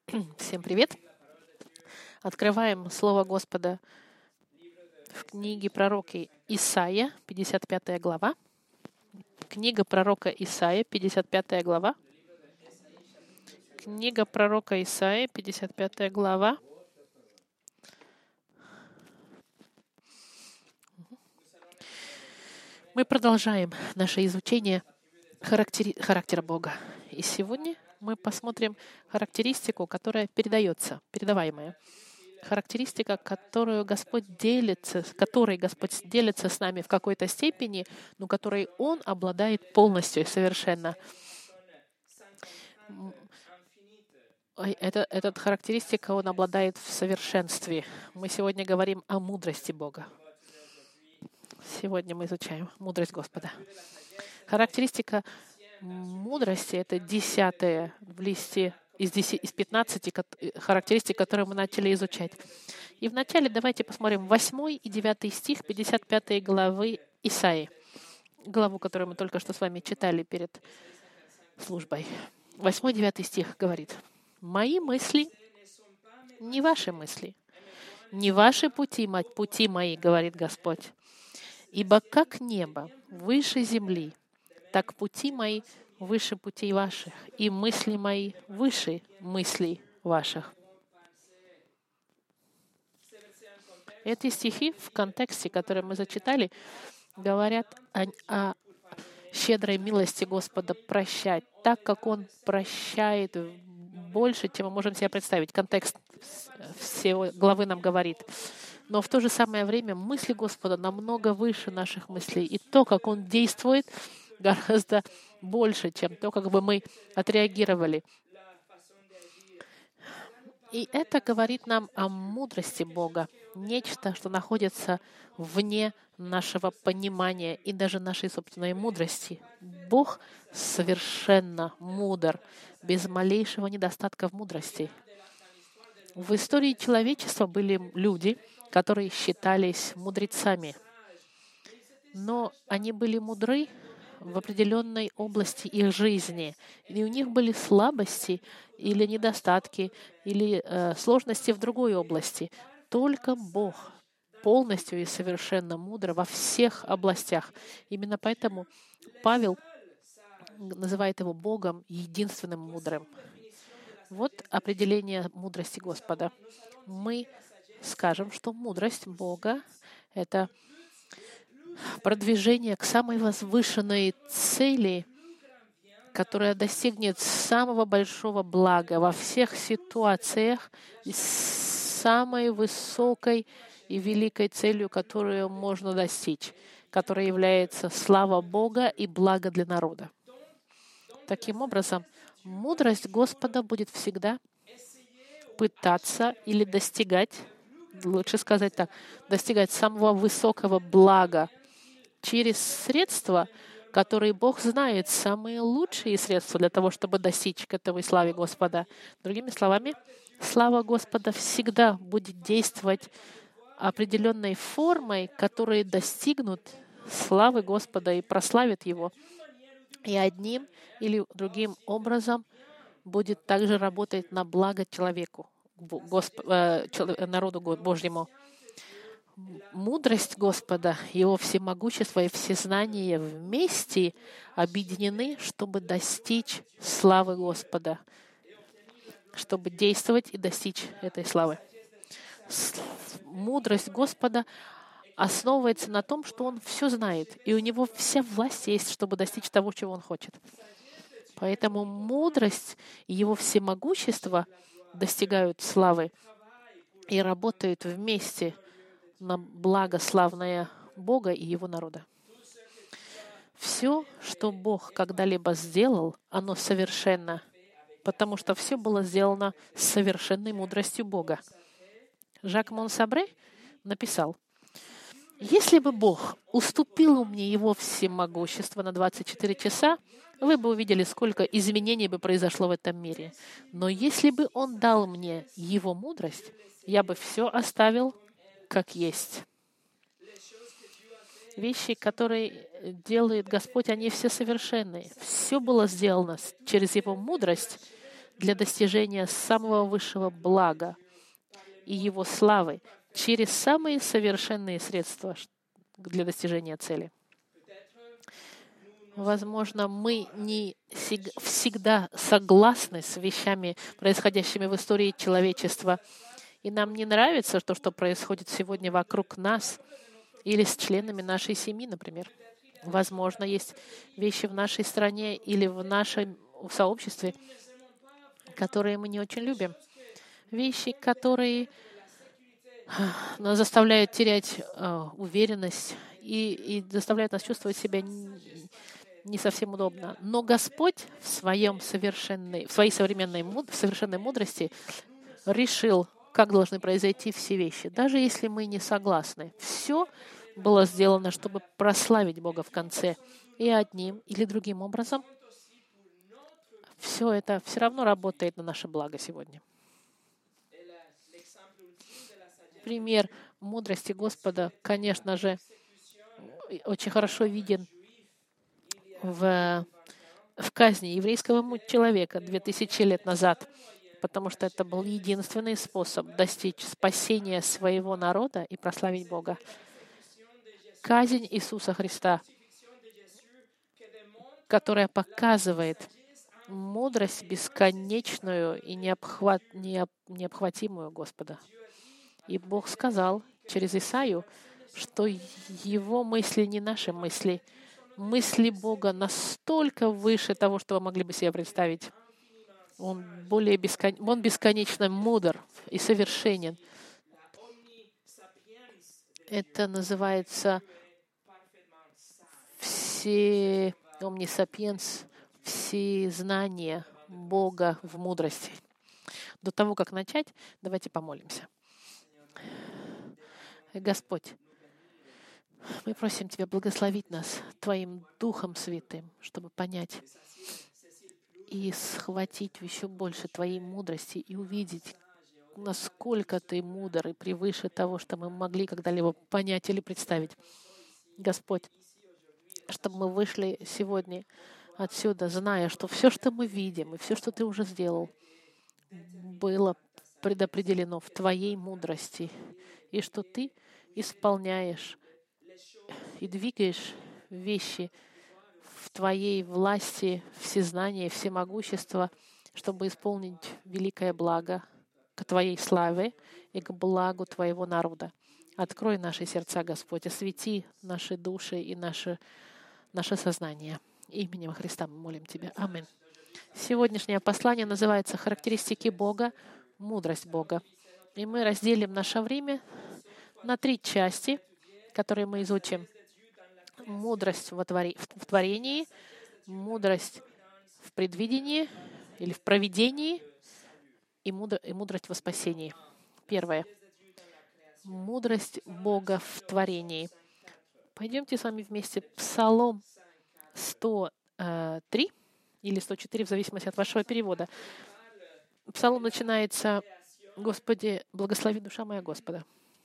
Всем привет! Открываем Слово Господа в книге пророка Исаия, 55 глава. Книга пророка Исаия, 55 глава. Книга пророка Исаия, 55 глава. Мы продолжаем наше изучение характера Бога. И сегодня мы посмотрим характеристику, которая передаваемая. Характеристика, которой Господь делится с нами в какой-то степени, но которой Он обладает полностью и совершенно. Эта характеристика Он обладает в совершенстве. Мы сегодня говорим о мудрости Бога. Сегодня мы изучаем мудрость Господа. Характеристика мудрости — это 10 в листе из 15 характеристик, которые мы начали изучать. И вначале давайте посмотрим 8 и 9 стих 55 главы Исаии, главу, которую мы только что с вами читали перед службой. 8 и 9 стих говорит: «Мои мысли не ваши мысли, не ваши пути мои, говорит Господь. Ибо как небо выше земли, так пути мои выше путей ваших, и мысли мои выше мыслей ваших». Эти стихи в контексте, который мы зачитали, говорят о щедрой милости Господа прощать, так как Он прощает больше, чем мы можем себе представить. Контекст всей главы нам говорит. Но в то же самое время мысли Господа намного выше наших мыслей. И то, как Он действует, гораздо больше, чем то, как бы мы отреагировали. И это говорит нам о мудрости Бога. Нечто, что находится вне нашего понимания и даже нашей собственной мудрости. Бог совершенно мудр, без малейшего недостатка в мудрости. В истории человечества были люди, которые считались мудрецами. Но они были мудры в определенной области их жизни. И у них были слабости или недостатки, или сложности в другой области. Только Бог полностью и совершенно мудр во всех областях. Именно поэтому Павел называет его Богом единственным мудрым. Вот определение мудрости Господа. Мы скажем, что мудрость Бога — это продвижение к самой возвышенной цели, которая достигнет самого большого блага во всех ситуациях, и самой высокой и великой целью, которую можно достичь, которая является слава Бога и благо для народа. Таким образом, мудрость Господа будет всегда пытаться или достигать, лучше сказать так, достигать самого высокого блага через средства, которые Бог знает, самые лучшие средства для того, чтобы достичь к этой славе Господа. Другими словами, слава Господа всегда будет действовать определенной формой, которые достигнут славы Господа и прославят Его. И одним или другим образом будет также работать на благо человеку, народу Божьему. Мудрость Господа, Его всемогущество и всезнание вместе объединены, чтобы достичь славы Господа, чтобы действовать и достичь этой славы. Мудрость Господа основывается на том, что Он все знает, и у Него вся власть есть, чтобы достичь того, чего Он хочет. Поэтому мудрость и Его всемогущество достигают славы и работают вместе на благо славное Бога и Его народа. Все, что Бог когда-либо сделал, оно совершенно, потому что все было сделано с совершенной мудростью Бога. Жак Монсабре написал: «Если бы Бог уступил мне Его всемогущество на 24 часа, вы бы увидели, сколько изменений бы произошло в этом мире. Но если бы Он дал мне Его мудрость, я бы все оставил как есть». Вещи, которые делает Господь, они все совершенные. Все было сделано через Его мудрость для достижения самого высшего блага и Его славы через самые совершенные средства для достижения цели. Возможно, мы не всегда согласны с вещами, происходящими в истории человечества, и нам не нравится то, что происходит сегодня вокруг нас или с членами нашей семьи, например. Возможно, есть вещи в нашей стране или в нашем сообществе, которые мы не очень любим. Вещи, которые нас заставляют терять уверенность и заставляют нас чувствовать себя не совсем удобно. Но Господь в своей совершенной мудрости решил, как должны произойти все вещи, даже если мы не согласны. Все было сделано, чтобы прославить Бога в конце. И одним или другим образом все это все равно работает на наше благо сегодня. Пример мудрости Господа, конечно же, очень хорошо виден в казни еврейского человека 2000 лет назад, потому что это был единственный способ достичь спасения своего народа и прославить Бога. Казнь Иисуса Христа, которая показывает мудрость бесконечную и необхватимую Господа. И Бог сказал через Исаию, что Его мысли не наши мысли. Мысли Бога настолько выше того, что вы могли бы себе представить. Он бесконечно мудр и совершенен. Это называется omniscience, всезнание Бога в мудрости. До того, как начать, давайте помолимся. Господь, мы просим Тебя благословить нас Твоим Духом Святым, чтобы понять и схватить еще больше Твоей мудрости и увидеть, насколько Ты мудр и превыше того, что мы могли когда-либо понять или представить. Господь, чтобы мы вышли сегодня отсюда, зная, что все, что мы видим, и все, что Ты уже сделал, было предопределено в Твоей мудрости, и что Ты исполняешь и двигаешь вещи в Твоей власти, всезнания, всемогущества, чтобы исполнить великое благо к Твоей славе и к благу Твоего народа. Открой наши сердца, Господь, освети наши души и наше сознание. Именем Христа мы молим Тебя. Аминь. Сегодняшнее послание называется «Характеристики Бога, мудрость Бога». И мы разделим наше время на 3 части, которые мы изучим. Мудрость в творении, мудрость в предвидении или в провидении и мудрость во спасении. Первое. Мудрость Бога в творении. Пойдемте с вами вместе. Псалом 103 или 104, в зависимости от вашего перевода. Псалом начинается «Господи, благослови душа моя Господа».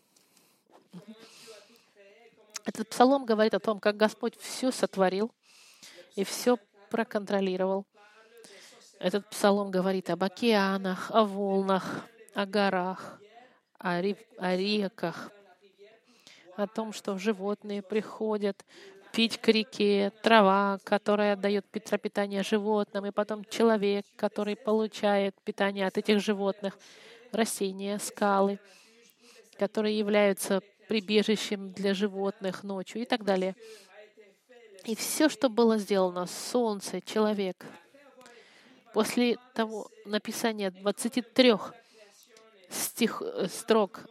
Этот псалом говорит о том, как Господь все сотворил и все проконтролировал. Этот псалом говорит об океанах, о волнах, о горах, о реках, о том, что животные приходят пить к реке, трава, которая дает питание животным, и потом человек, который получает питание от этих животных, растения, скалы, которые являются прибежищем для животных ночью и так далее. И все, что было сделано, солнце, человек, после того написания 23 строк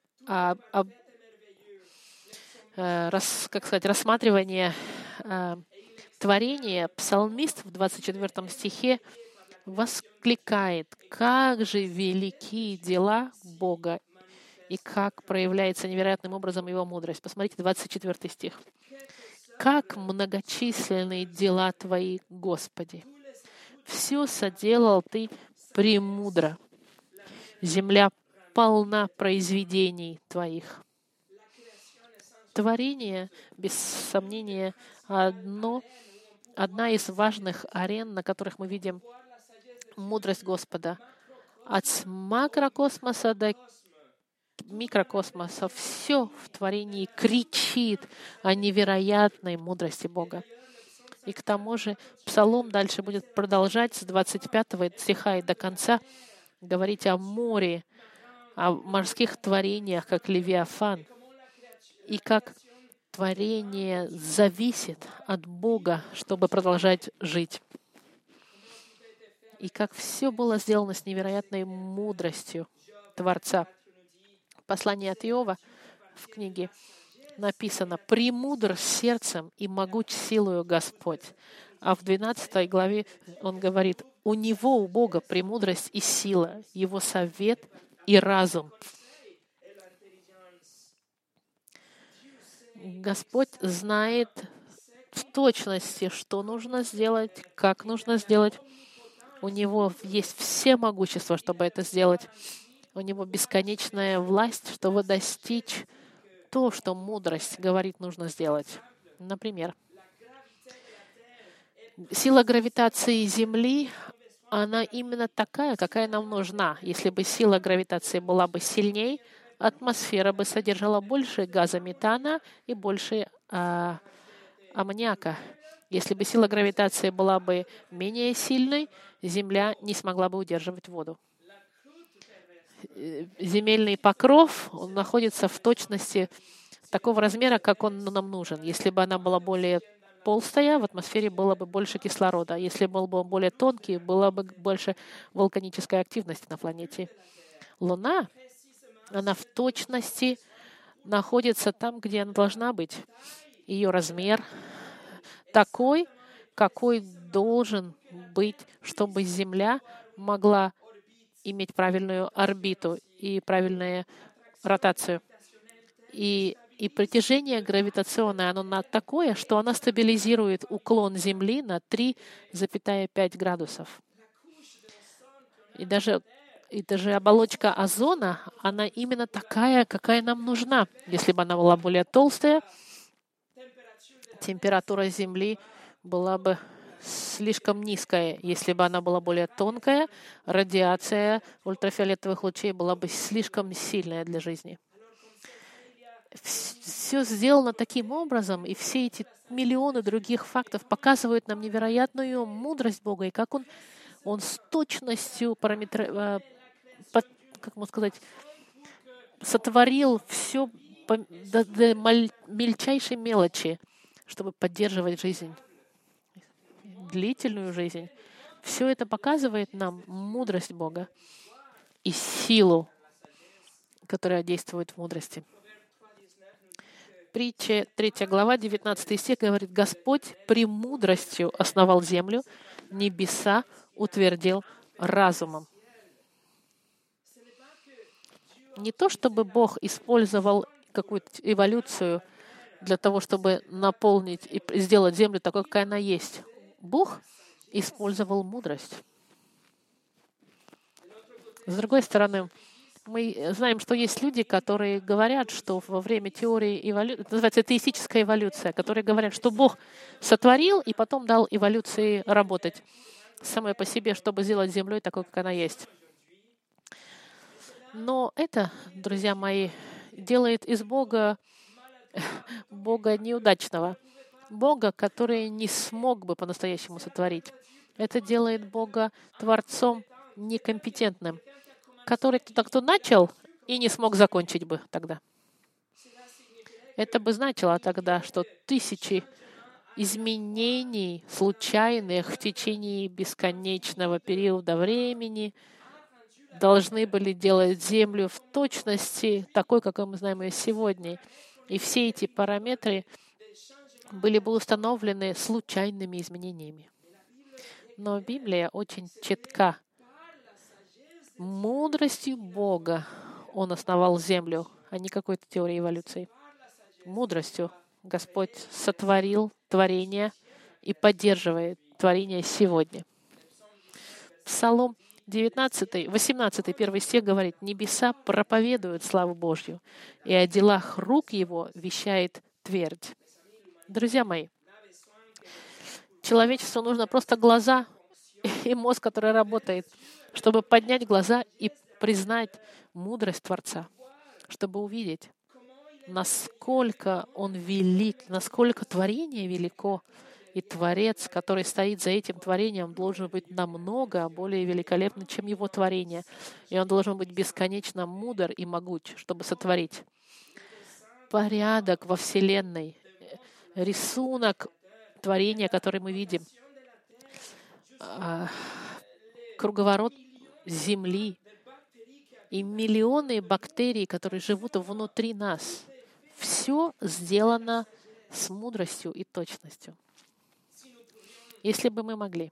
рассматривания творения, псалмист в 24 стихе воскликает, как же велики дела Бога и как проявляется невероятным образом Его мудрость. Посмотрите, 24 стих. «Как многочисленные дела Твои, Господи! Все соделал Ты премудро. Земля полна произведений Твоих». Творение, без сомнения, одна из важных арен, на которых мы видим мудрость Господа. От макрокосмоса до микрокосмоса все в творении кричит о невероятной мудрости Бога. И к тому же Псалом дальше будет продолжать с 25 стиха и до конца говорить о море, о морских творениях, как Левиафан, и как творение зависит от Бога, чтобы продолжать жить. И как все было сделано с невероятной мудростью Творца. Послание от Иова в книге написано: «Премудр сердцем и могуч силою Господь». А в 12 главе он говорит: «У Него, у Бога, премудрость и сила, Его совет и разум». Господь знает в точности, что нужно сделать, как нужно сделать. У Него есть все могущества, чтобы это сделать. У Него бесконечная власть, чтобы достичь то, что мудрость говорит, нужно сделать. Например, сила гравитации Земли, она именно такая, какая нам нужна. Если бы сила гравитации была бы сильней, атмосфера бы содержала больше газа метана и больше аммониака. Если бы сила гравитации была бы менее сильной, Земля не смогла бы удерживать воду. Земельный покров он находится в точности такого размера, как он нам нужен. Если бы она была более толстая, в атмосфере было бы больше кислорода. Если был бы более тонкий, была бы больше вулканической активности на планете. Луна, она в точности находится там, где она должна быть. Ее размер такой, какой должен быть, чтобы Земля могла иметь правильную орбиту и правильную ротацию. И притяжение гравитационное, оно такое, что оно стабилизирует уклон Земли на 3,5 градусов. И даже оболочка озона, она именно такая, какая нам нужна. Если бы она была более толстая, температура Земли была бы слишком низкая. Если бы она была более тонкая, радиация ультрафиолетовых лучей была бы слишком сильная для жизни. Все сделано таким образом, и все эти миллионы других фактов показывают нам невероятную мудрость Бога, и как Он с точностью как можно сказать, сотворил все до мельчайшей мелочи, чтобы поддерживать жизнь, длительную жизнь. Все это показывает нам мудрость Бога и силу, которая действует в мудрости. Притча 3 глава, 19 стих говорит: «Господь премудростью основал землю, небеса утвердил разумом». Не то, чтобы Бог использовал какую-то эволюцию для того, чтобы наполнить и сделать землю такой, какая она есть. Бог использовал мудрость. С другой стороны, мы знаем, что есть люди, которые говорят, что во время теории эволюции, это называется теистическая эволюция, которые говорят, что Бог сотворил и потом дал эволюции работать самой по себе, чтобы сделать землей такой, как она есть. Но это, друзья мои, делает из Бога неудачного, Бога, который не смог бы по-настоящему сотворить. Это делает Бога Творцом некомпетентным, который кто начал и не смог закончить бы тогда. Это бы значило тогда, что тысячи изменений случайных в течение бесконечного периода времени должны были делать Землю в точности такой, какой мы знаем ее сегодня. И все эти параметры были бы установлены случайными изменениями. Но Библия очень четка. Мудростью Бога Он основал землю, а не какой-то теорией эволюции. Мудростью Господь сотворил творение и поддерживает творение сегодня. Псалом 18, 1 стих говорит: «Небеса проповедуют славу Божью, и о делах рук Его вещает твердь». Друзья мои, человечеству нужно просто глаза и мозг, который работает, чтобы поднять глаза и признать мудрость Творца, чтобы увидеть, насколько Он велик, насколько творение велико, и Творец, который стоит за этим творением, должен быть намного более великолепным, чем его творение. И Он должен быть бесконечно мудр и могуч, чтобы сотворить порядок во Вселенной, рисунок творения, который мы видим, круговорот Земли и миллионы бактерий, которые живут внутри нас. Все сделано с мудростью и точностью. Если бы мы могли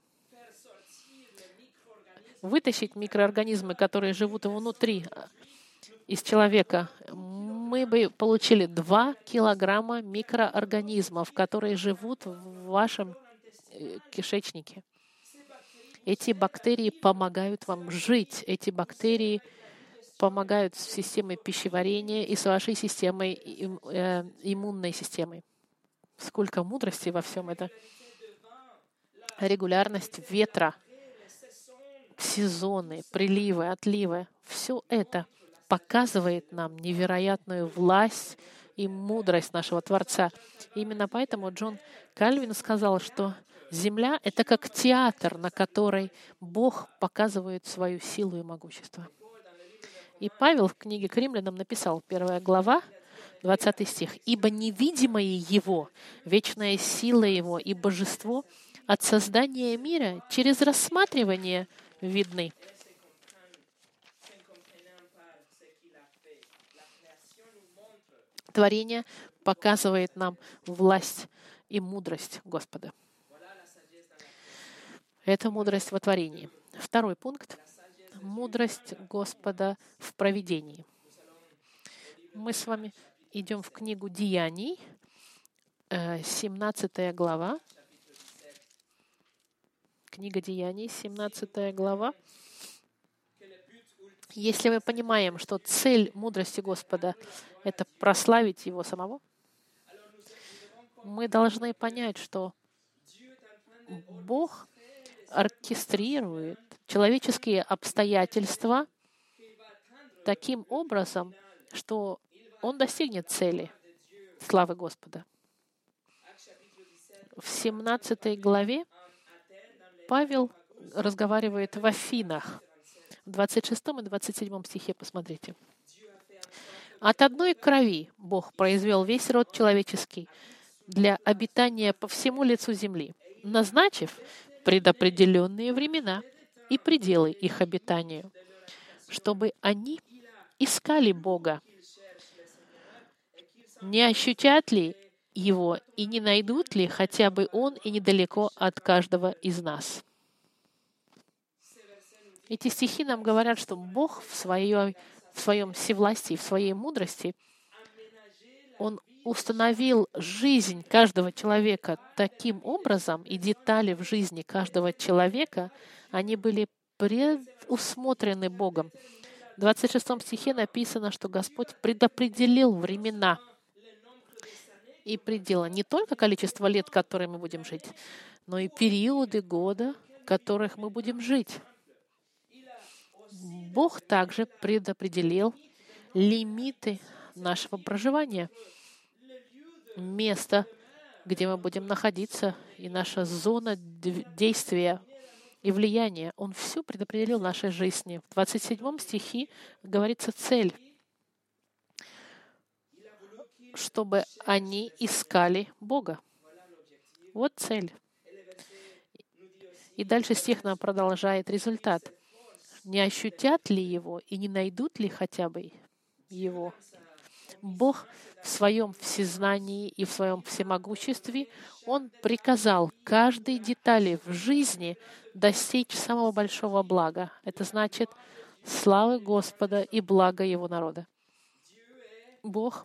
вытащить микроорганизмы, которые живут внутри из человека, мы бы получили 2 килограмма микроорганизмов, которые живут в вашем кишечнике. Эти бактерии помогают вам жить. Эти бактерии помогают с системой пищеварения и с вашей системой, иммунной системой. Сколько мудрости во всем этом. Регулярность ветра, сезоны, приливы, отливы. Все это показывает нам невероятную власть и мудрость нашего Творца. Именно поэтому Джон Кальвин сказал, что Земля — это как театр, на который Бог показывает свою силу и могущество. И Павел в книге к Римлянам написал, 1 глава, 20 стих, «Ибо невидимое Его, вечная сила Его и божество от создания мира через рассматривание видны». Творение показывает нам власть и мудрость Господа. Это мудрость во творении. Второй пункт — мудрость Господа в провидении. Мы с вами идем в книгу Деяний, 17 глава. Книга Деяний, 17 глава. Если мы понимаем, что цель мудрости Господа — это прославить Его самого, мы должны понять, что Бог оркестрирует человеческие обстоятельства таким образом, что Он достигнет цели славы Господа. В 17 главе Павел разговаривает в Афинах. В 26 и 27 стихе посмотрите. «От одной крови Бог произвел весь род человеческий для обитания по всему лицу земли, назначив предопределенные времена и пределы их обитанию, чтобы они искали Бога. Не ощутят ли Его и не найдут ли хотя бы Он и недалеко от каждого из нас?» Эти стихи нам говорят, что Бог в своем всевластии, в своей мудрости, Он установил жизнь каждого человека таким образом, и детали в жизни каждого человека, они были предусмотрены Богом. В 26 стихе написано, что Господь предопределил времена и пределы, не только количество лет, которые мы будем жить, но и периоды года, в которых мы будем жить. Бог также предопределил лимиты нашего проживания, место, где мы будем находиться, и наша зона действия и влияния. Он все предопределил в нашей жизни. В 27 стихе говорится цель, чтобы они искали Бога. Вот цель. И дальше стих нам продолжает результат. Не ощутят ли Его и не найдут ли хотя бы Его? Бог в своем всезнании и в своем всемогуществе, Он приказал каждой детали в жизни достичь самого большого блага. Это значит славы Господа и блага Его народа. Бог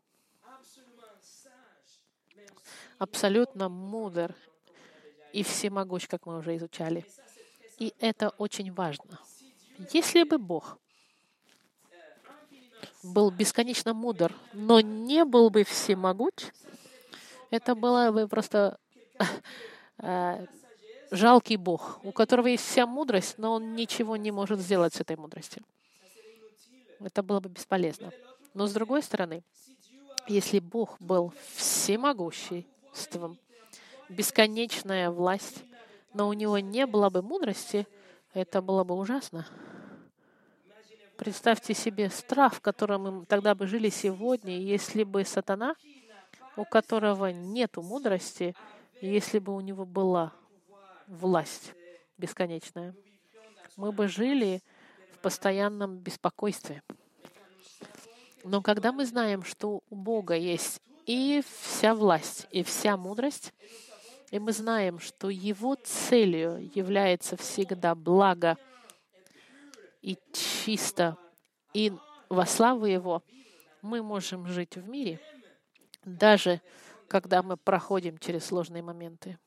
абсолютно мудр и всемогущ, как мы уже изучали. И это очень важно. Если бы Бог был бесконечно мудр, но не был бы всемогуч, это было бы просто жалкий Бог, у которого есть вся мудрость, но он ничего не может сделать с этой мудростью. Это было бы бесполезно. Но с другой стороны, если Бог был всемогуществом, бесконечная власть, но у него не было бы мудрости, это было бы ужасно. Представьте себе страх, в котором мы тогда бы жили сегодня, если бы сатана, у которого нет мудрости, если бы у него была власть бесконечная. Мы бы жили в постоянном беспокойстве. Но когда мы знаем, что у Бога есть и вся власть, и вся мудрость, и мы знаем, что Его целью является всегда благо и чисто, и во славу Его, мы можем жить в мире, даже когда мы проходим через сложные моменты.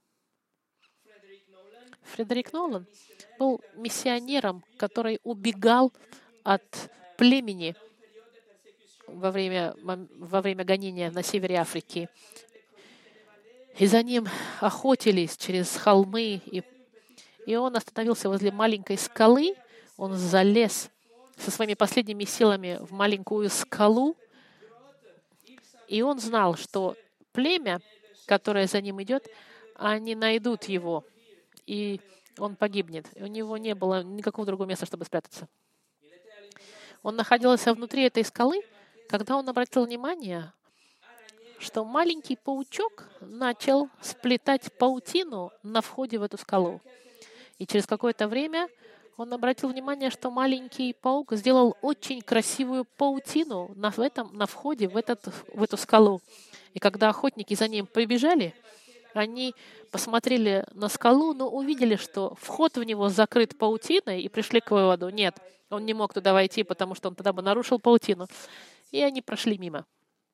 Фредерик Нолан был миссионером, который убегал от племени во время гонения на севере Африки. И за ним охотились через холмы. И он остановился возле маленькой скалы. Он залез со своими последними силами в маленькую скалу. И он знал, что племя, которое за ним идет, они найдут его. И он погибнет. И у него не было никакого другого места, чтобы спрятаться. Он находился внутри этой скалы, когда он обратил внимание, что маленький паучок начал сплетать паутину на входе в эту скалу. И через какое-то время он обратил внимание, что маленький паук сделал очень красивую паутину на входе в эту скалу. И когда охотники за ним прибежали, они посмотрели на скалу, но увидели, что вход в него закрыт паутиной, и пришли к выводу: нет, он не мог туда войти, потому что он тогда бы нарушил паутину. И они прошли мимо.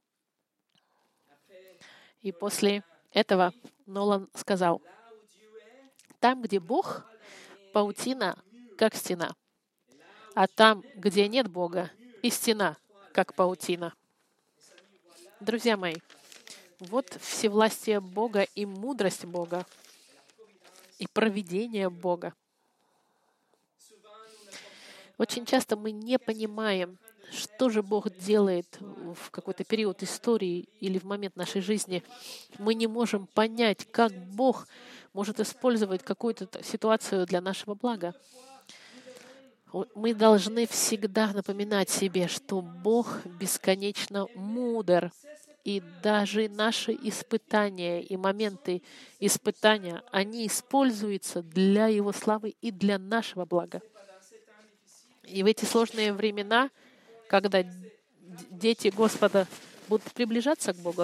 И после этого Нолан сказал: там, где Бог, паутина как стена, а там, где нет Бога, и стена как паутина. Друзья мои, вот всевластие Бога и мудрость Бога, и провидение Бога. Очень часто мы не понимаем, что же Бог делает в какой-то период истории или в момент нашей жизни. Мы не можем понять, как Бог может использовать какую-то ситуацию для нашего блага. Мы должны всегда напоминать себе, что Бог бесконечно мудр. И даже наши испытания и моменты испытания, они используются для Его славы и для нашего блага. И в эти сложные времена, когда дети Господа будут приближаться к Богу,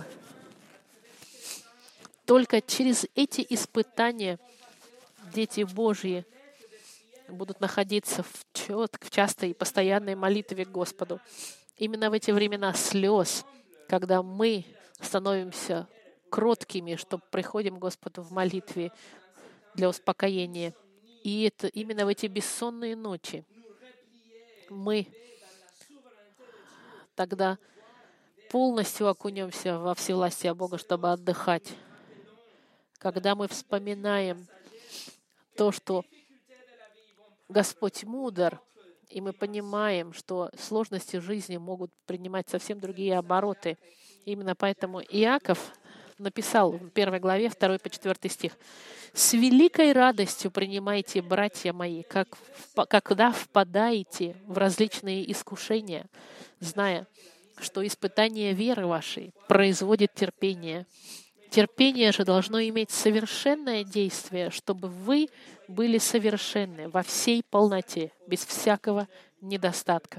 только через эти испытания дети Божьи будут находиться в частой и постоянной молитве к Господу. Именно в эти времена слез, когда мы становимся кроткими, что приходим к Господу в молитве для успокоения. И это именно в эти бессонные ночи мы тогда полностью окунемся во всевластие Бога, чтобы отдыхать. Когда мы вспоминаем то, что Господь мудр, и мы понимаем, что сложности жизни могут принимать совсем другие обороты. Именно поэтому Иаков написал в 1 главе 2 по 4 стих: «С великой радостью принимайте, братья мои, когда впадаете в различные искушения, зная, что испытание веры вашей производит терпение. Терпение же должно иметь совершенное действие, чтобы вы были совершенны во всей полноте, без всякого недостатка».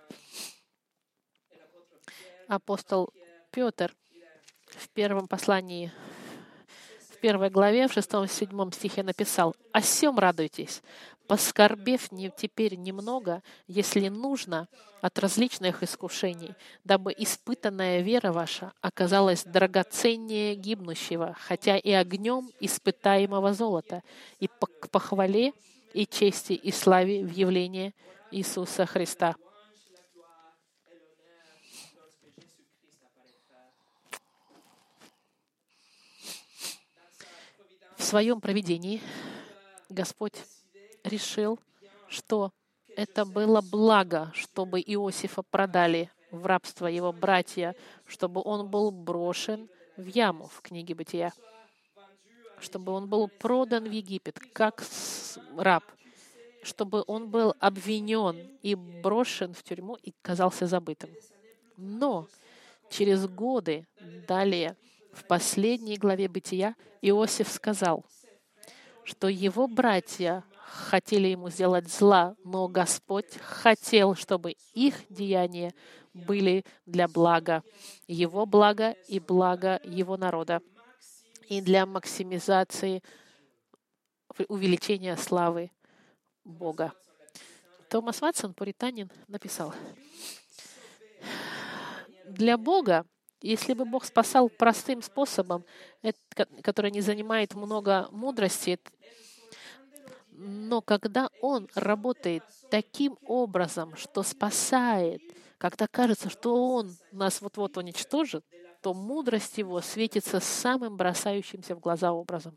Апостол Петр в первом послании, в 1 главе, в 6-7 стихе написал: «О сем радуйтесь, поскорбев теперь немного, если нужно, от различных искушений, дабы испытанная вера ваша оказалась драгоценнее гибнущего, хотя и огнем испытаемого золота, и к похвале и чести и славе в явлении Иисуса Христа». В своем провидении Господь решил, что это было благо, чтобы Иосифа продали в рабство его братья, чтобы он был брошен в яму в книге Бытия, чтобы он был продан в Египет как раб, чтобы он был обвинен и брошен в тюрьму и казался забытым. Но через годы далее, в последней главе Бытия, Иосиф сказал, что его братья хотели ему сделать зла, но Господь хотел, чтобы их деяния были для блага его блага и блага его народа, и для максимизации увеличения славы Бога. Томас Ватсон, пуританин, написал: для Бога, если бы Бог спасал простым способом, который не занимает много мудрости, но когда Он работает таким образом, что спасает, когда кажется, что Он нас вот-вот уничтожит, то мудрость Его светится самым бросающимся в глаза образом.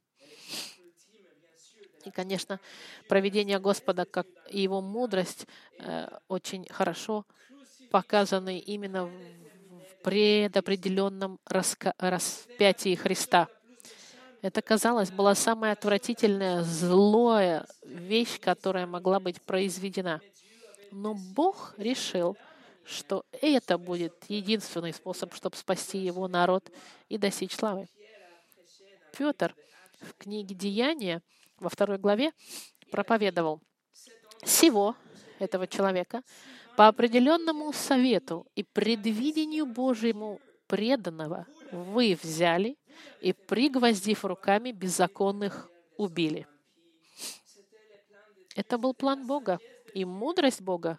И, конечно, провидение Господа, как и Его мудрость, очень хорошо показаны именно в предопределенном распятии Христа. Это, казалось, была самая отвратительная, злая вещь, которая могла быть произведена. Но Бог решил, что это будет единственный способ, чтобы спасти Его народ и достичь славы. Петр в книге «Деяния» во 2 главе проповедовал: «Сего, этого человека, по определенному совету и предвидению Божьему преданного вы взяли и, пригвоздив руками беззаконных, убили». Это был план Бога и мудрость Бога.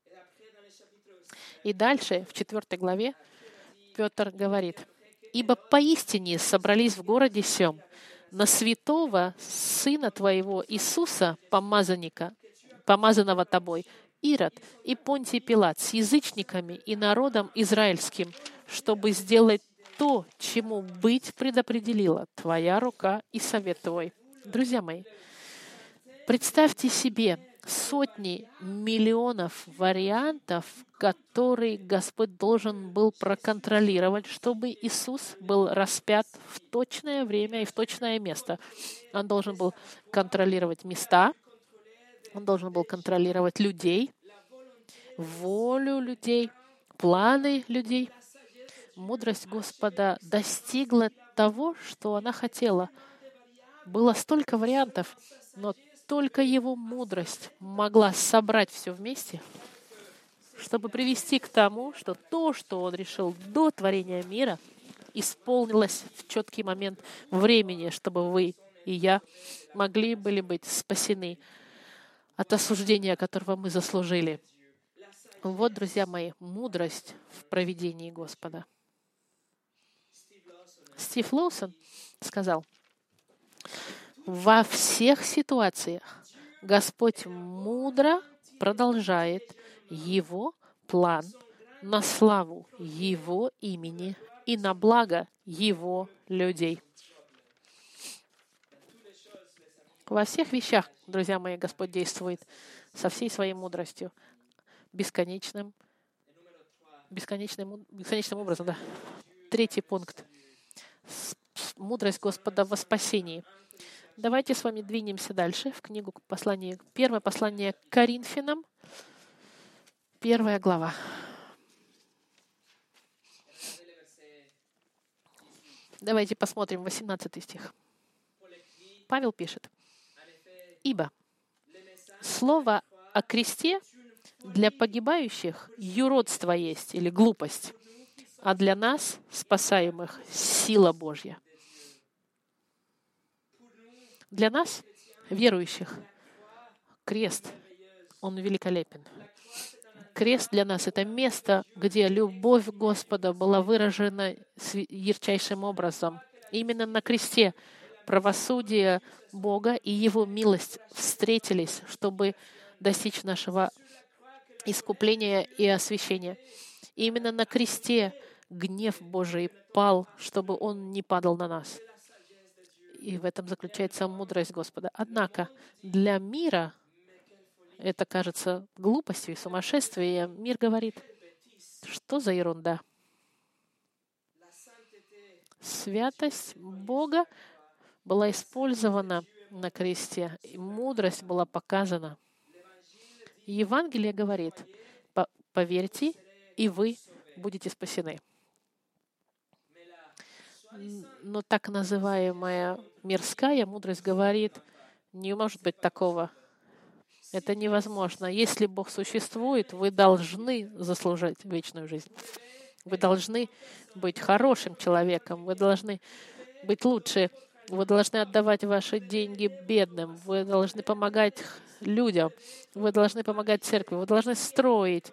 И дальше, в 4 главе, Петр говорит: «Ибо поистине собрались в городе сем на святого Сына Твоего Иисуса, помазанного Тобой, Ирод и Понтий Пилат с язычниками и народом израильским, чтобы сделать то, чему быть предопределила Твоя рука и совет Твой». Друзья мои, представьте себе сотни миллионов вариантов, которые Господь должен был проконтролировать, чтобы Иисус был распят в точное время и в точное место. Он должен был контролировать места, он должен был контролировать людей, волю людей, планы людей. Мудрость Господа достигла того, что она хотела. Было столько вариантов, но только Его мудрость могла собрать все вместе, чтобы привести к тому, что то, что Он решил до творения мира, исполнилось в четкий момент времени, чтобы вы и я могли были быть спасены от осуждения, которого мы заслужили. Вот, друзья мои, мудрость в провидении Господа. Стив Лоусон сказал: во всех ситуациях Господь мудро продолжает Его план на славу Его имени и на благо Его людей. Во всех вещах, друзья мои, Господь действует со всей своей мудростью, бесконечным образом. Да. 3 пункт. Мудрость Господа во спасении. Давайте с вами двинемся дальше в книгу послания. Первое послание к Коринфянам, 1 глава. Давайте посмотрим 18 стих. Павел пишет: «Ибо слово о кресте для погибающих юродство есть или глупость, а для нас, спасаемых, сила Божья». Для нас, верующих, крест, он великолепен. Крест для нас — это место, где любовь Господа была выражена ярчайшим образом. Именно на кресте правосудие Бога и Его милость встретились, чтобы достичь нашего искупления и освящения. И именно на кресте гнев Божий пал, чтобы он не падал на нас. И в этом заключается мудрость Господа. Однако для мира это кажется глупостью и сумасшествием. Мир говорит, что за ерунда? Святость Бога была использована на кресте, и мудрость была показана. Евангелие говорит, поверьте, и вы будете спасены. Но так называемая мирская мудрость говорит, не может быть такого. Это невозможно. Если Бог существует, вы должны заслужить вечную жизнь. Вы должны быть хорошим человеком, вы должны быть лучше, вы должны отдавать ваши деньги бедным, вы должны помогать людям, вы должны помогать церкви, вы должны строить,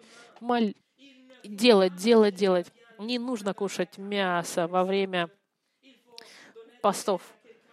делать. Не нужно кушать мясо во время постов.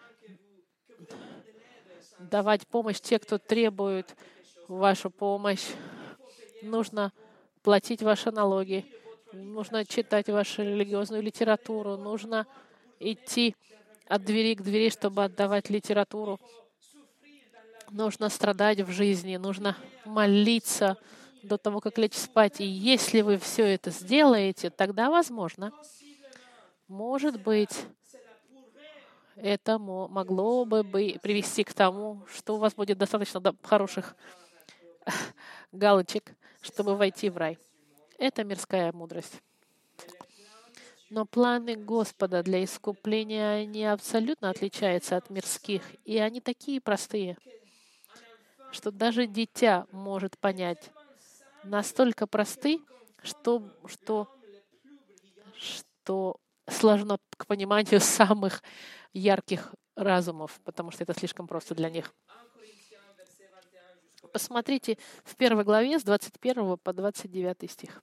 Давать помощь те, кто требует вашу помощь. Нужно платить ваши налоги. Нужно читать вашу религиозную литературу. Нужно идти от двери к двери, чтобы отдавать литературу. Нужно страдать в жизни. Нужно молиться до того, как лечь спать. И если вы все это сделаете, тогда, возможно, может быть, это могло бы привести к тому, что у вас будет достаточно хороших галочек, чтобы войти в рай. Это мирская мудрость. Но планы Господа для искупления, они абсолютно отличаются от мирских. И они такие простые, что даже дитя может понять. Настолько просты, что сложно к пониманию самых ярких разумов, потому что это слишком просто для них. Посмотрите в 1 главе с 21 по 29 стих.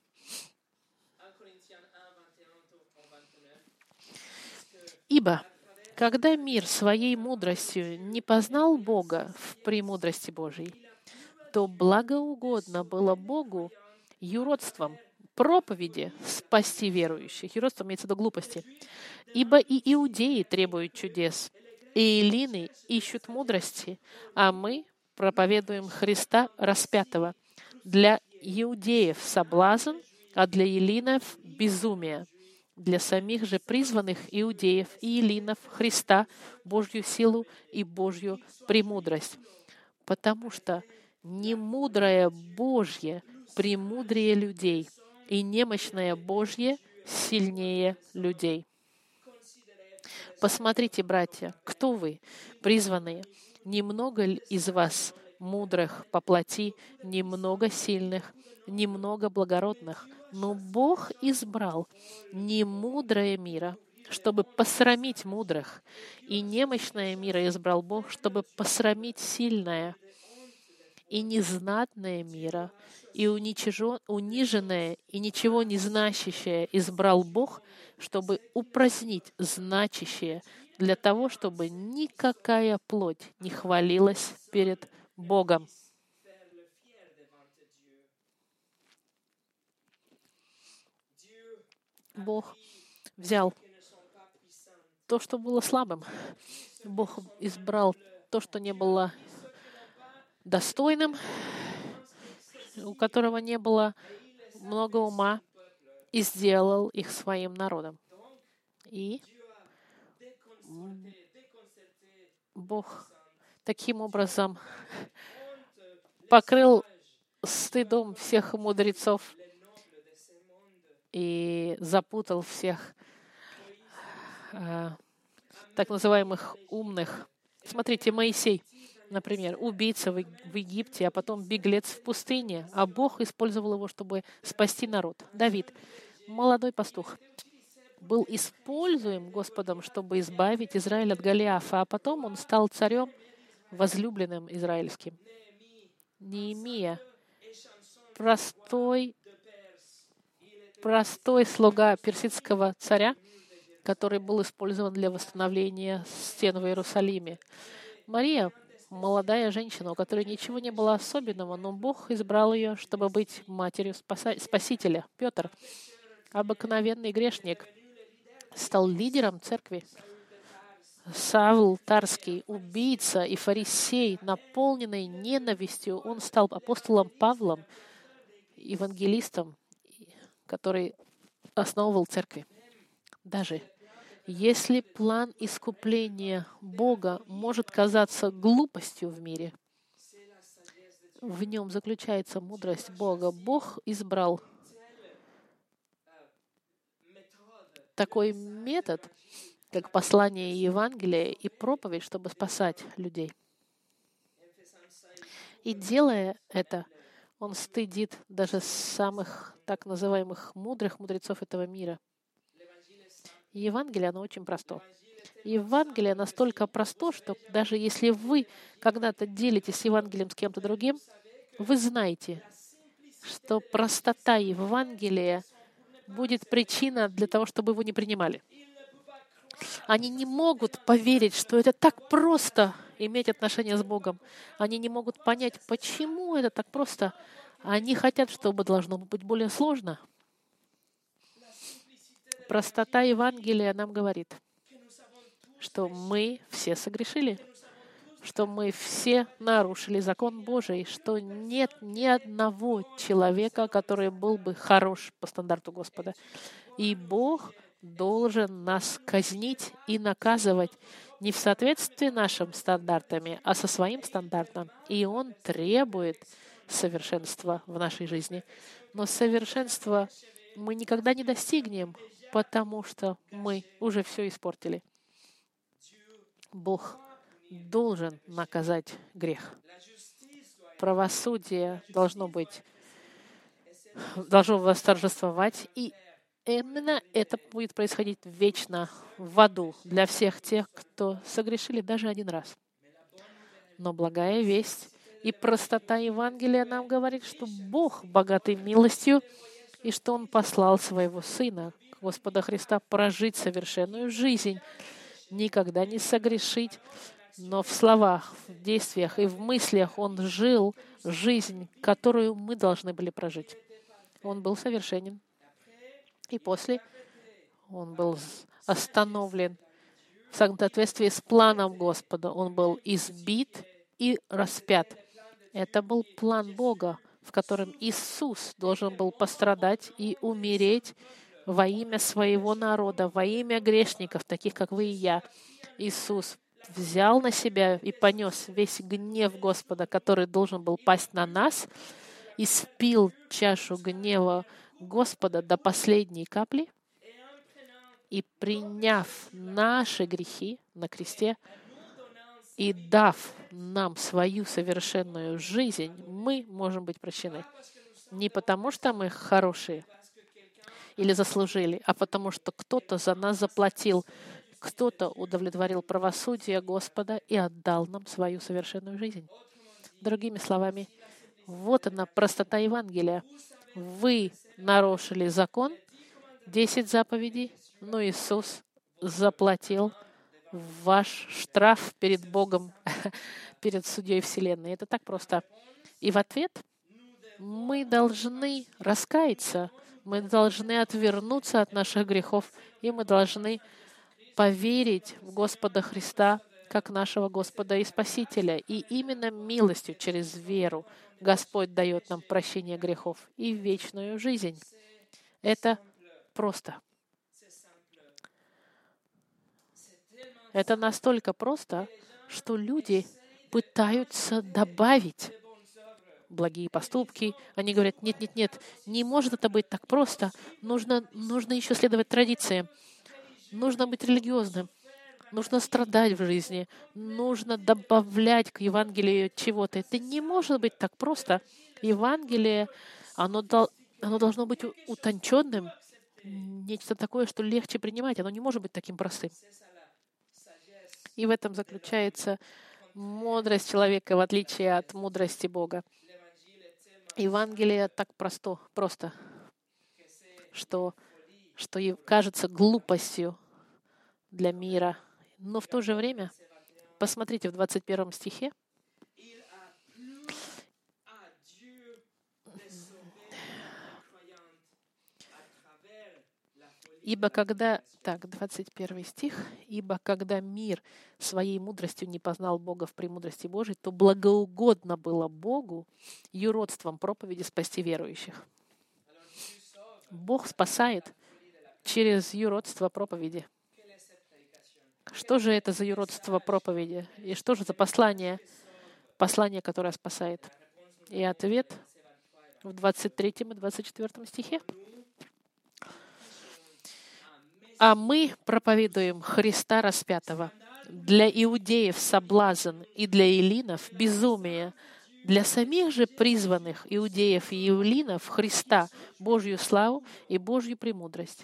«Ибо, когда мир своей мудростью не познал Бога в премудрости Божьей, то благоугодно было Богу юродством проповеди спасти верующих». Юродство имеется в виду глупости. «Ибо и иудеи требуют чудес, и эллины ищут мудрости, а мы проповедуем Христа распятого. Для иудеев соблазн, а для эллинов безумие. Для самих же призванных иудеев и эллинов Христа Божью силу и Божью премудрость. Потому что немудрое Божье премудрее людей, и немощное Божье сильнее людей». Посмотрите, братья, кто вы, призванные? Немного ли из вас мудрых по плоти, немного сильных, немного благородных? Но Бог избрал немудрое мира, чтобы посрамить мудрых, и немощное мира избрал Бог, чтобы посрамить сильное, и незнатное мира, и униженное, и ничего не значащее избрал Бог, чтобы упразднить значащее, для того, чтобы никакая плоть не хвалилась перед Богом. Бог взял то, что было слабым. Бог избрал то, что не было достойным, у которого не было много ума, и сделал их своим народом. И Бог таким образом покрыл стыдом всех мудрецов и запутал всех так называемых умных. Смотрите, Моисей, например, убийца в Египте, а потом беглец в пустыне, а Бог использовал его, чтобы спасти народ. Давид, молодой пастух, был используем Господом, чтобы избавить Израиль от Голиафа, а потом он стал царем, возлюбленным израильским. Неемия, простой слуга персидского царя, который был использован для восстановления стен в Иерусалиме. Мария, молодая женщина, у которой ничего не было особенного, но Бог избрал ее, чтобы быть матерью Спасителя. Петр, обыкновенный грешник, стал лидером церкви. Савл Тарский, убийца и фарисей, наполненный ненавистью, он стал апостолом Павлом, евангелистом, который основывал церкви. Даже если план искупления Бога может казаться глупостью в мире, в нем заключается мудрость Бога. Бог избрал такой метод, как послание Евангелия и проповедь, чтобы спасать людей. И делая это, он стыдит даже самых так называемых мудрых мудрецов этого мира. Евангелие, оно очень просто. Евангелие настолько просто, что даже если вы когда-то делитесь Евангелием с кем-то другим, вы знаете, что простота Евангелия будет причина для того, чтобы его не принимали. Они не могут поверить, что это так просто иметь отношения с Богом. Они не могут понять, почему это так просто. Они хотят, чтобы должно быть более сложно. Простота Евангелия нам говорит, что мы все согрешили, что мы все нарушили закон Божий, что нет ни одного человека, который был бы хорош по стандарту Господа. И Бог должен нас казнить и наказывать не в соответствии нашим стандартами, а со своим стандартом. И Он требует совершенства в нашей жизни. Но совершенства мы никогда не достигнем, потому что мы уже все испортили. Бог должен наказать грех. Правосудие должно восторжествовать, и именно это будет происходить вечно в аду для всех тех, кто согрешили даже один раз. Но благая весть и простота Евангелия нам говорит, что Бог богатый милостью, и что Он послал Своего Сына, Господа Христа, прожить совершенную жизнь, никогда не согрешить, но в словах, в действиях и в мыслях Он жил жизнь, которую мы должны были прожить. Он был совершенен. И после Он был остановлен в соответствии с планом Господа. Он был избит и распят. Это был план Бога, в котором Иисус должен был пострадать и умереть во имя своего народа, во имя грешников, таких как вы и я. Иисус взял на себя и понес весь гнев Господа, который должен был пасть на нас, и спил чашу гнева Господа до последней капли, и приняв наши грехи на кресте и дав нам свою совершенную жизнь, мы можем быть прощены. Не потому, что мы хорошие или заслужили, а потому, что кто-то за нас заплатил, кто-то удовлетворил правосудие Господа и отдал нам свою совершенную жизнь. Другими словами, вот она простота Евангелия. Вы нарушили закон, 10 заповедей, но Иисус заплатил ваш штраф перед Богом, перед Судьей Вселенной. Это так просто. И в ответ мы должны раскаяться, мы должны отвернуться от наших грехов, и мы должны поверить в Господа Христа как нашего Господа и Спасителя. И именно милостью через веру Господь дает нам прощение грехов и вечную жизнь. Это просто. Это настолько просто, что люди пытаются добавить благие поступки. Они говорят, нет, не может это быть так просто. Нужно еще следовать традициям. Нужно быть религиозным. Нужно страдать в жизни. Нужно добавлять к Евангелию чего-то. Это не может быть так просто. Евангелие, оно должно быть утонченным. Нечто такое, что легче принимать. Оно не может быть таким простым. И в этом заключается мудрость человека, в отличие от мудрости Бога. Евангелие так просто, что кажется глупостью для мира. Но в то же время, посмотрите в 21 стихе, Ибо когда, так, 21 стих, «Ибо когда мир своей мудростью не познал Бога в премудрости Божией, то благоугодно было Богу юродством проповеди спасти верующих». Бог спасает через юродство проповеди. Что же это за юродство проповеди? И что же за послание? Послание, которое спасает. И ответ в 23 и 24 стихе. «А мы проповедуем Христа распятого, для иудеев соблазн и для эллинов безумие, для самих же призванных иудеев и эллинов Христа Божью славу и Божью премудрость».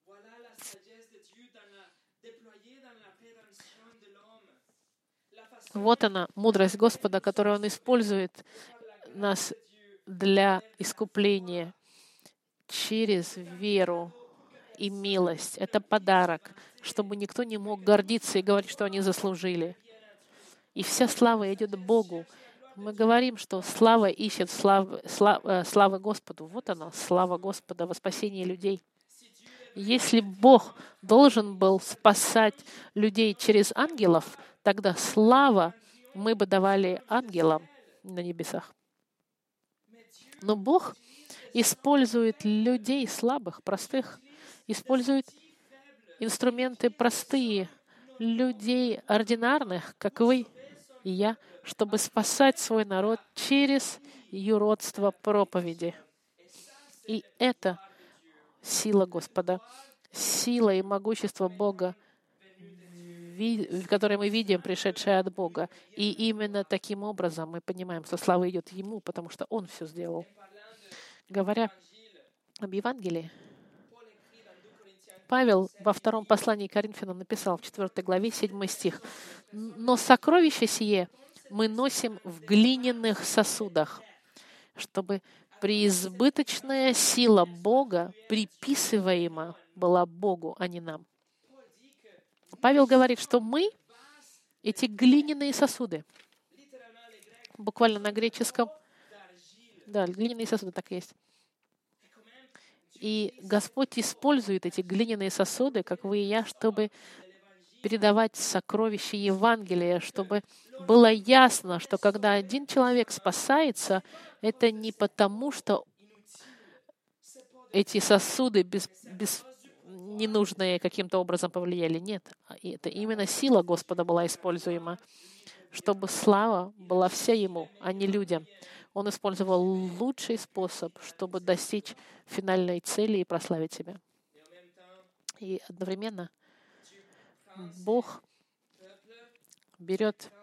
Вот она, мудрость Господа, которую Он использует нас для искупления через веру и милость. Это подарок, чтобы никто не мог гордиться и говорить, что они заслужили. И вся слава идет Богу. Мы говорим, что слава ищет славы Господу. Вот она, слава Господа во спасении людей. Если Бог должен был спасать людей через ангелов, тогда слава мы бы давали ангелам на небесах. Но Бог использует людей слабых, простых, использует инструменты простые, людей ординарных, как вы и я, чтобы спасать свой народ через юродство проповеди. И это сила Господа, сила и могущество Бога, которое мы видим, пришедшее от Бога. И именно таким образом мы понимаем, что слава идет Ему, потому что Он все сделал. Говоря об Евангелии, Павел во втором послании к Коринфянам написал в 4 главе 7 стих: «Но сокровище сие мы носим в глиняных сосудах, чтобы преизбыточная сила Бога приписываема была Богу, а не нам». Павел говорит, что мы — эти глиняные сосуды. Буквально на греческом. Да, глиняные сосуды, так и есть. И Господь использует эти глиняные сосуды, как вы и я, чтобы передавать сокровища Евангелия, чтобы было ясно, что когда один человек спасается, это не потому, что эти сосуды ненужные каким-то образом повлияли. Нет, это именно сила Господа была используема, чтобы слава была вся Ему, а не людям. Он использовал лучший способ, чтобы достичь финальной цели и прославить себя. И одновременно Бог берет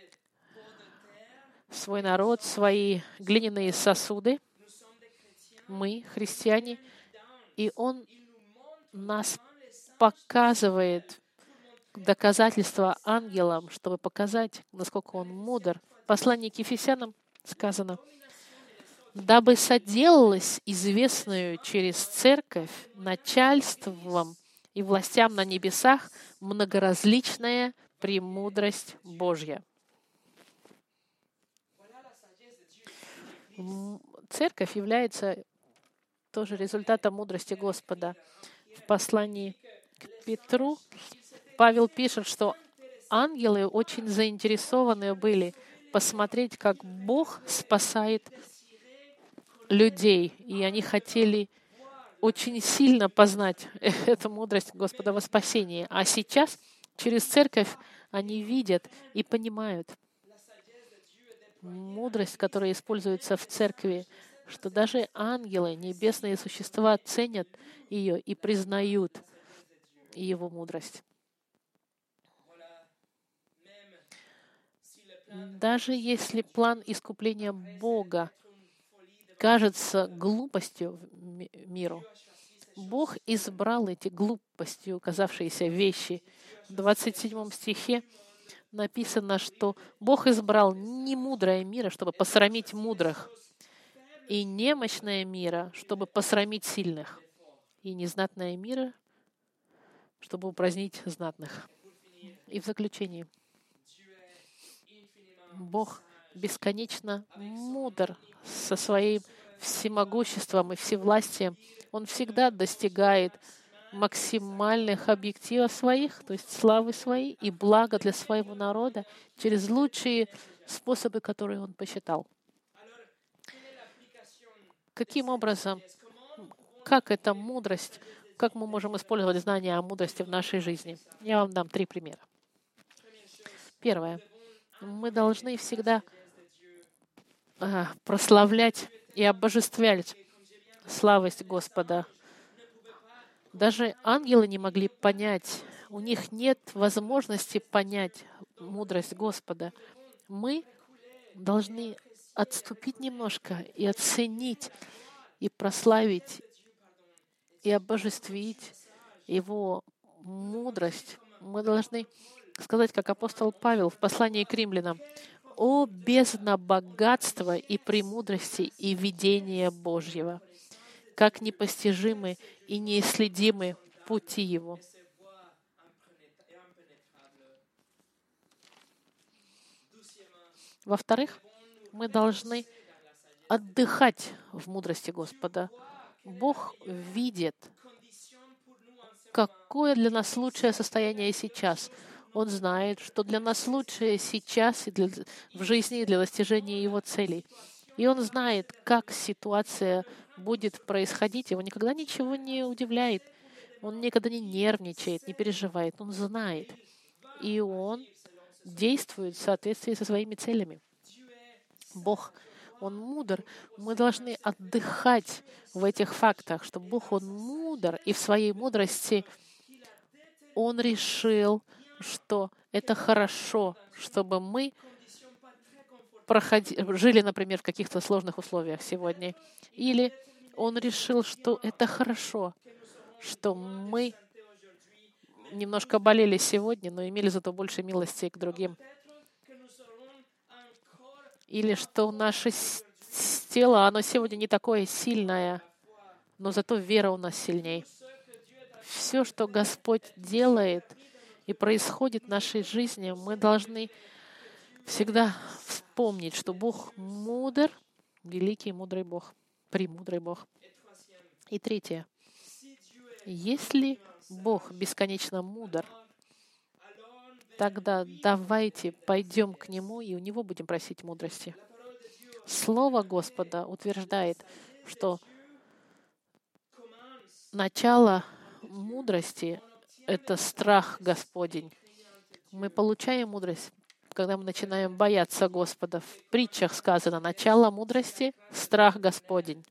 свой народ, свои глиняные сосуды, мы, христиане, и Он нас показывает доказательства ангелам, чтобы показать, насколько Он мудр. В послании к Ефесянам сказано: «Дабы соделалась известную через церковь начальством и властям на небесах многоразличная премудрость Божья». Церковь является тоже результатом мудрости Господа. В послании к Петру Павел пишет, что ангелы очень заинтересованы были посмотреть, как Бог спасает людей, и они хотели очень сильно познать эту мудрость Господа во спасении. А сейчас через церковь они видят и понимают мудрость, которая используется в церкви, что даже ангелы, небесные существа, ценят ее и признают Его мудрость. Даже если план искупления Бога кажется глупостью миру, Бог избрал эти глупостью казавшиеся вещи. В 27 стихе написано, что Бог избрал немудрое мира, чтобы посрамить мудрых, и немощное мира, чтобы посрамить сильных, и незнатное мира, чтобы упразднить знатных. И в заключении, Бог бесконечно мудр со своим всемогуществом и всевластием. Он всегда достигает максимальных объективов своих, то есть славы своей и блага для своего народа через лучшие способы, которые Он посчитал. Каким образом, как эта мудрость, как мы можем использовать знания о мудрости в нашей жизни? Я вам дам 3 примера. Первое. Мы должны всегда прославлять и обожествлять славость Господа. Даже ангелы не могли понять, у них нет возможности понять мудрость Господа. Мы должны отступить немножко и оценить, и прославить, и обожествить Его мудрость. Мы должны сказать, как апостол Павел в послании к римлянам: «О бездна богатства и премудрости и видения Божьего! Как непостижимы и неисследимы пути Его». Во-вторых, мы должны отдыхать в мудрости Господа. Бог видит, какое для нас лучшее состояние сейчас. Он знает, что для нас лучшее сейчас и в жизни и для достижения Его целей. И Он знает, как ситуация будет происходить. Его никогда ничего не удивляет. Он никогда не нервничает, не переживает. Он знает. И Он действует в соответствии со своими целями. Бог, Он мудр. Мы должны отдыхать в этих фактах, что Бог, Он мудр, и в своей мудрости Он решил, что это хорошо, чтобы мы жили, например, в каких-то сложных условиях сегодня. Или Он решил, что это хорошо, что мы немножко болели сегодня, но имели зато больше милости к другим. Или что наше тело, оно сегодня не такое сильное, но зато вера у нас сильней. Все, что Господь делает и происходит в нашей жизни, мы должны всегда вспомнить, что Бог мудр, великий мудрый Бог, премудрый Бог. И третье. Если Бог бесконечно мудр, тогда давайте пойдем к Нему и у Него будем просить мудрости. Слово Господа утверждает, что начало мудрости — это страх Господень. Мы получаем мудрость, когда мы начинаем бояться Господа. В притчах сказано: начало мудрости — страх Господень.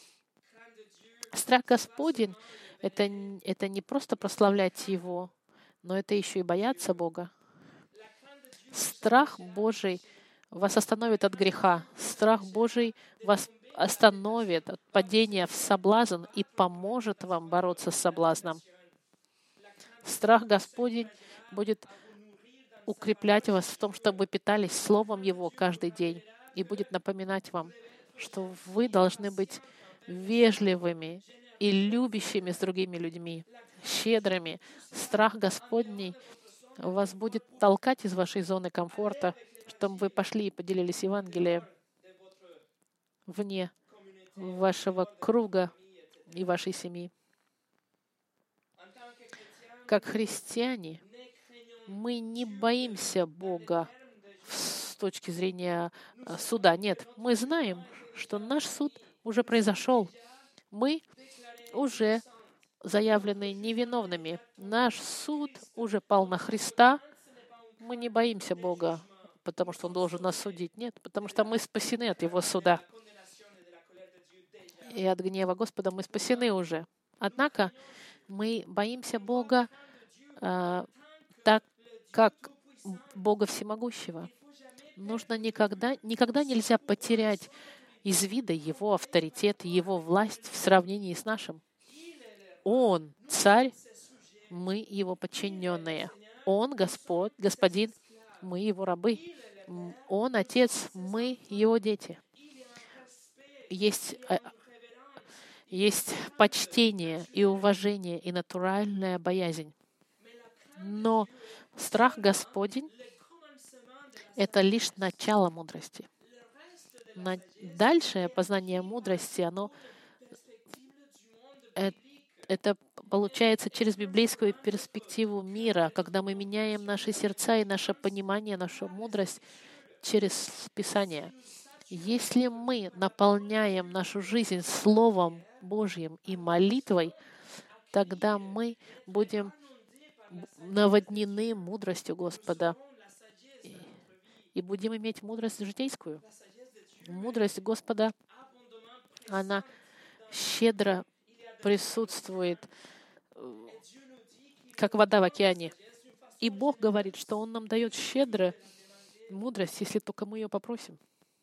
Страх Господень — это не просто прославлять Его, но это еще и бояться Бога. Страх Божий вас остановит от греха. Страх Божий вас остановит от падения в соблазн и поможет вам бороться с соблазном. Страх Господень будет укреплять вас в том, чтобы вы питались Словом Его каждый день, и будет напоминать вам, что вы должны быть вежливыми и любящими с другими людьми, щедрыми. Страх Господний вас будет толкать из вашей зоны комфорта, чтобы вы пошли и поделились Евангелием вне вашего круга и вашей семьи. Как христиане, мы не боимся Бога с точки зрения суда. Нет, мы знаем, что наш суд уже произошел. Мы уже заявлены невиновными. Наш суд уже пал на Христа. Мы не боимся Бога, потому что Он должен нас судить. Нет, потому что мы спасены от Его суда. И от гнева Господа мы спасены уже. Однако мы боимся Бога так, как Бога Всемогущего. Никогда нельзя потерять из вида Его авторитет, Его власть в сравнении с нашим. Он царь, мы Его подчиненные. Он Господь, Господин, мы Его рабы. Он Отец, мы Его дети. Есть почтение и уважение, и натуральная боязнь. Но страх Господень — это лишь начало мудрости. Дальшее познание мудрости, это получается через библейскую перспективу мира, когда мы меняем наши сердца и наше понимание, нашу мудрость через Писание. Если мы наполняем нашу жизнь Словом Божьим и молитвой, тогда мы будем наводнены мудростью Господа и будем иметь мудрость житейскую. Мудрость Господа, она щедро присутствует, как вода в океане. И Бог говорит, что Он нам дает щедро мудрость, если только мы ее попросим.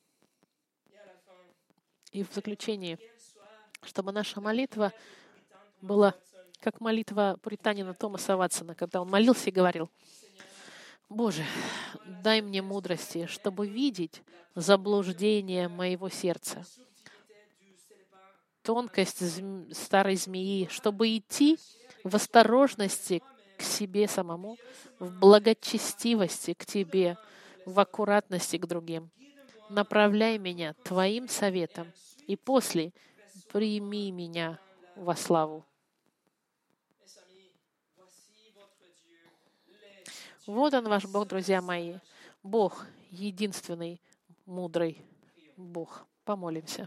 И в заключение, чтобы наша молитва была как молитва пуританина Томаса Ватсона, когда он молился и говорил: «Боже, дай мне мудрости, чтобы видеть заблуждение моего сердца, тонкость старой змеи, чтобы идти в осторожности к себе самому, в благочестивости к Тебе, в аккуратности к другим. Направляй меня Твоим советом, и после прими меня во славу». Вот Он, ваш Бог, друзья мои. Бог единственный, мудрый Бог. Помолимся.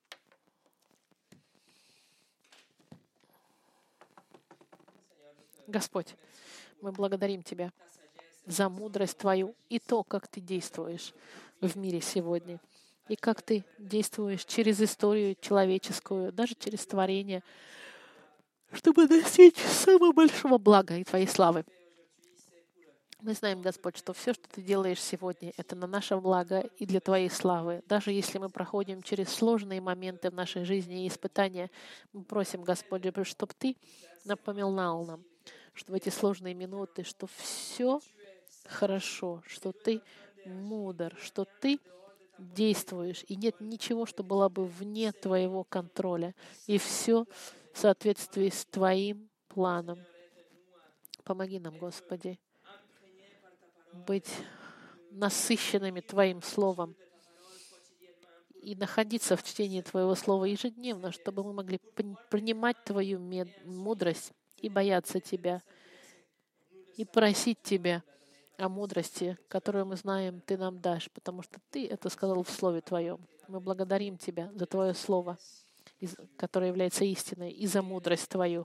Господь, мы благодарим Тебя за мудрость Твою и то, как Ты действуешь в мире сегодня, и как Ты действуешь через историю человеческую, даже через творение, чтобы достичь самого большого блага и Твоей славы. Мы знаем, Господь, что все, что Ты делаешь сегодня, это на наше благо и для Твоей славы. Даже если мы проходим через сложные моменты в нашей жизни и испытания, мы просим, Господь, чтобы Ты напоминал нам, что в эти сложные минуты, что все хорошо, что Ты мудр, что Ты действуешь, и нет ничего, что было бы вне Твоего контроля, и все в соответствии с Твоим планом. Помоги нам, Господи, быть насыщенными Твоим Словом и находиться в чтении Твоего Слова ежедневно, чтобы мы могли принимать Твою мудрость и бояться Тебя, и просить Тебя о мудрости, которую мы знаем, Ты нам дашь, потому что Ты это сказал в Слове Твоем. Мы благодарим Тебя за Твое Слово, которое является истиной, и за мудрость Твою.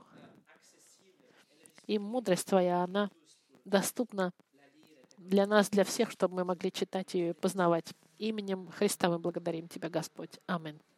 И мудрость Твоя, она доступна для нас, для всех, чтобы мы могли читать ее и познавать. Именем Христа мы благодарим Тебя, Господь. Аминь.